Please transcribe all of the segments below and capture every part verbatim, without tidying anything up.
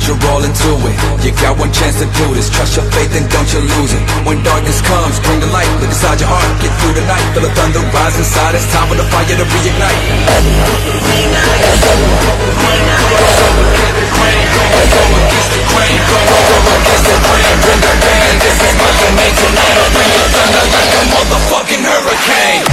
put your all into it. You got one chance to do this, trust your faith and don't you lose it. When darkness comes, bring the light, look inside your heart, get through the night. Feel the thunder rise inside, it's time for the fire to reignite. Bring the pain, this is my domain tonight. I'll bring the thunder like a motherfucking hurricane.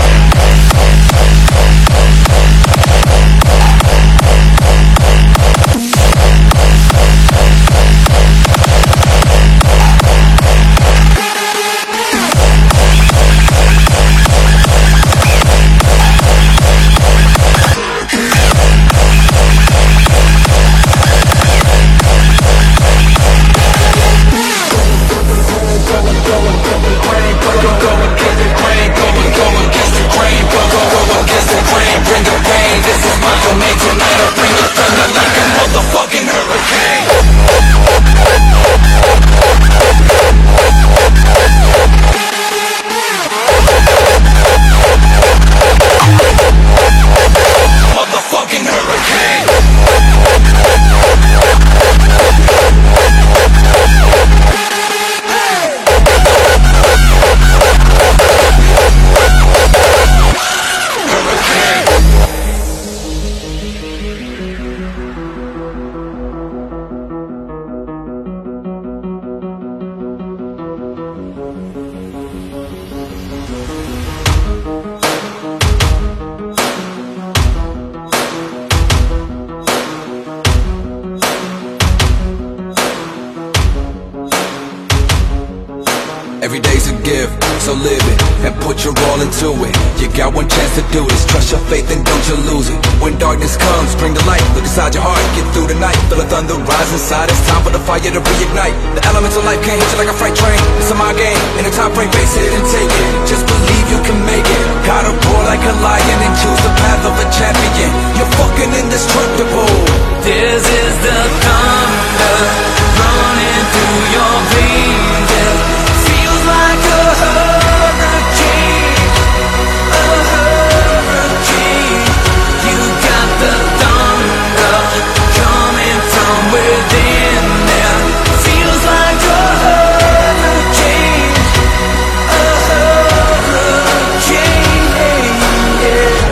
Every day's a gift, so live it and put your all into it. You got one chance to do this, trust your faith and don't you lose it. When darkness comes, bring the light, look inside your heart, get through the night. Feel the thunder rise inside, it's time for the fire to reignite. The elements of life can't hit you like a freight train. It's a mind game, in a time frame, face it and take it. Just believe you can make it. Gotta roar like a lion and choose the path of a champion. You're fucking indestructible. This is the thunder running through your veins. Like a hurricane, a hurricane. You got the thunder coming from within there. Feels like a hurricane, a hurricane, yeah.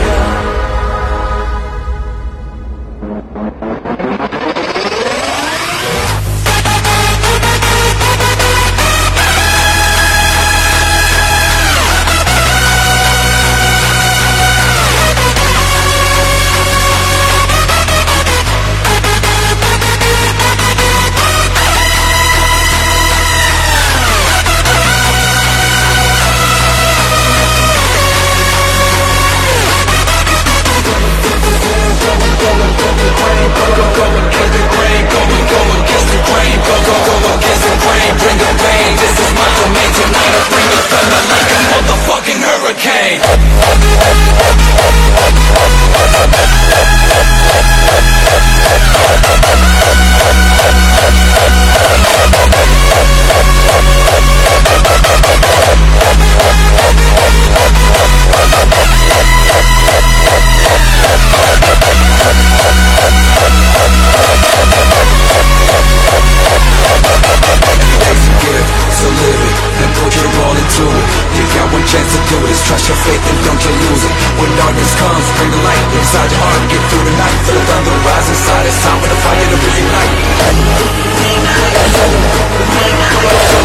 Trust your faith and don't you lose it. When darkness comes, bring the light inside your heart, get through the night. Feel the thunder rise inside, it's time for the fire to reignite.